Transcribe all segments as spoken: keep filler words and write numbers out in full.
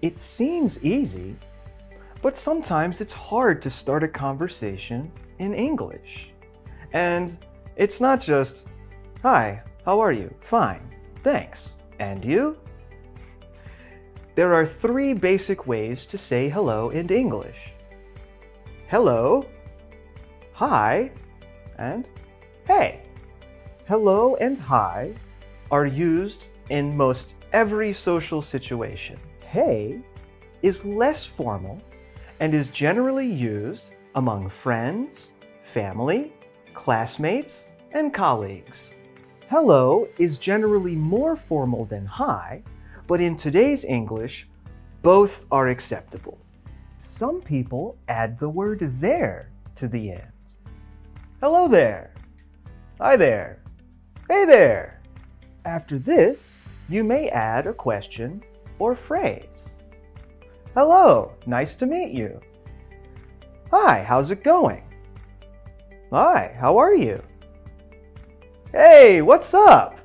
It seems easy, but sometimes it's hard to start a conversation in English. And it's not just, "Hi, how are you? Fine, thanks. And you?" There are three basic ways to say hello in English. Hello, hi, and hey. Hello and hi are used in most every social situation. Hey is less formal and is generally used among friends, family, classmates, and colleagues. Hello is generally more formal than hi, but in today's English, both are acceptable. Some people add the word there to the end. Hello there. Hi there. Hey there. After this, you may add a question or phrase. Hello, nice to meet you. Hi, how's it going? Hi, how are you? Hey, what's up?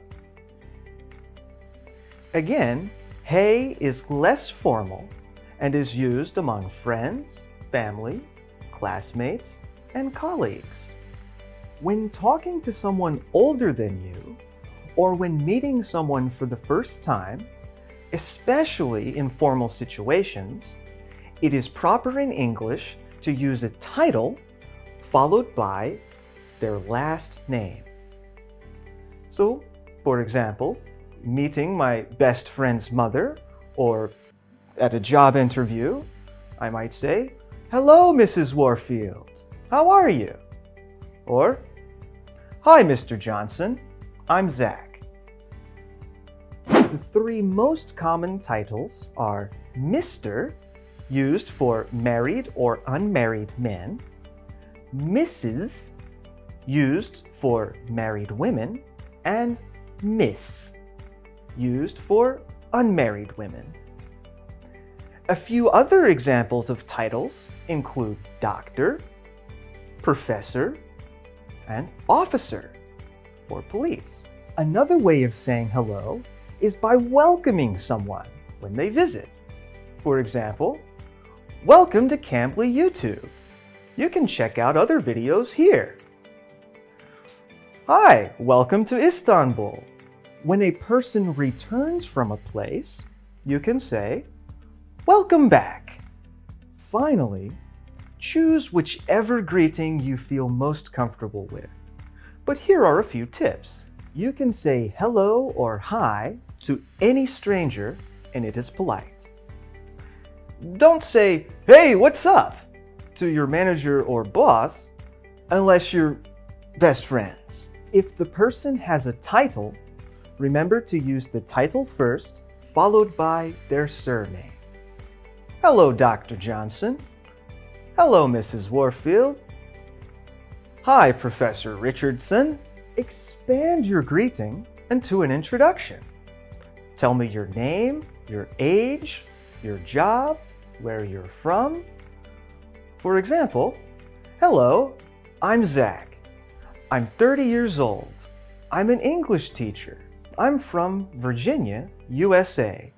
Again, hey is less formal and is used among friends, family, classmates, and colleagues. When talking to someone older than you, or when meeting someone for the first time, especially in formal situations, it is proper in English to use a title followed by their last name. So, for example, meeting my best friend's mother, or at a job interview, I might say, "Hello, Missus Warfield. How are you?" Or, "Hi, Mister Johnson. I'm Zach." The three most common titles are Mister, used for married or unmarried men, Missus, used for married women, and Miss, used for unmarried women. A few other examples of titles include doctor, professor, and officer for police. Another way of saying hello is by welcoming someone when they visit. For example, "Welcome to Cambly YouTube. You can check out other videos here." "Hi, welcome to Istanbul." When a person returns from a place, you can say, "Welcome back." Finally, choose whichever greeting you feel most comfortable with. But here are a few tips. You can say hello or hi to any stranger, and it is polite. Don't say, "Hey, what's up?" to your manager or boss unless you're best friends. If the person has a title, remember to use the title first, followed by their surname. "Hello, Doctor Johnson." "Hello, Missus Warfield." "Hi, Professor Richardson." Expand your greeting into an introduction. Tell me your name, your age, your job, where you're from. For example, "Hello, I'm Zach. I'm thirty years old. I'm an English teacher. I'm from Virginia, U S A.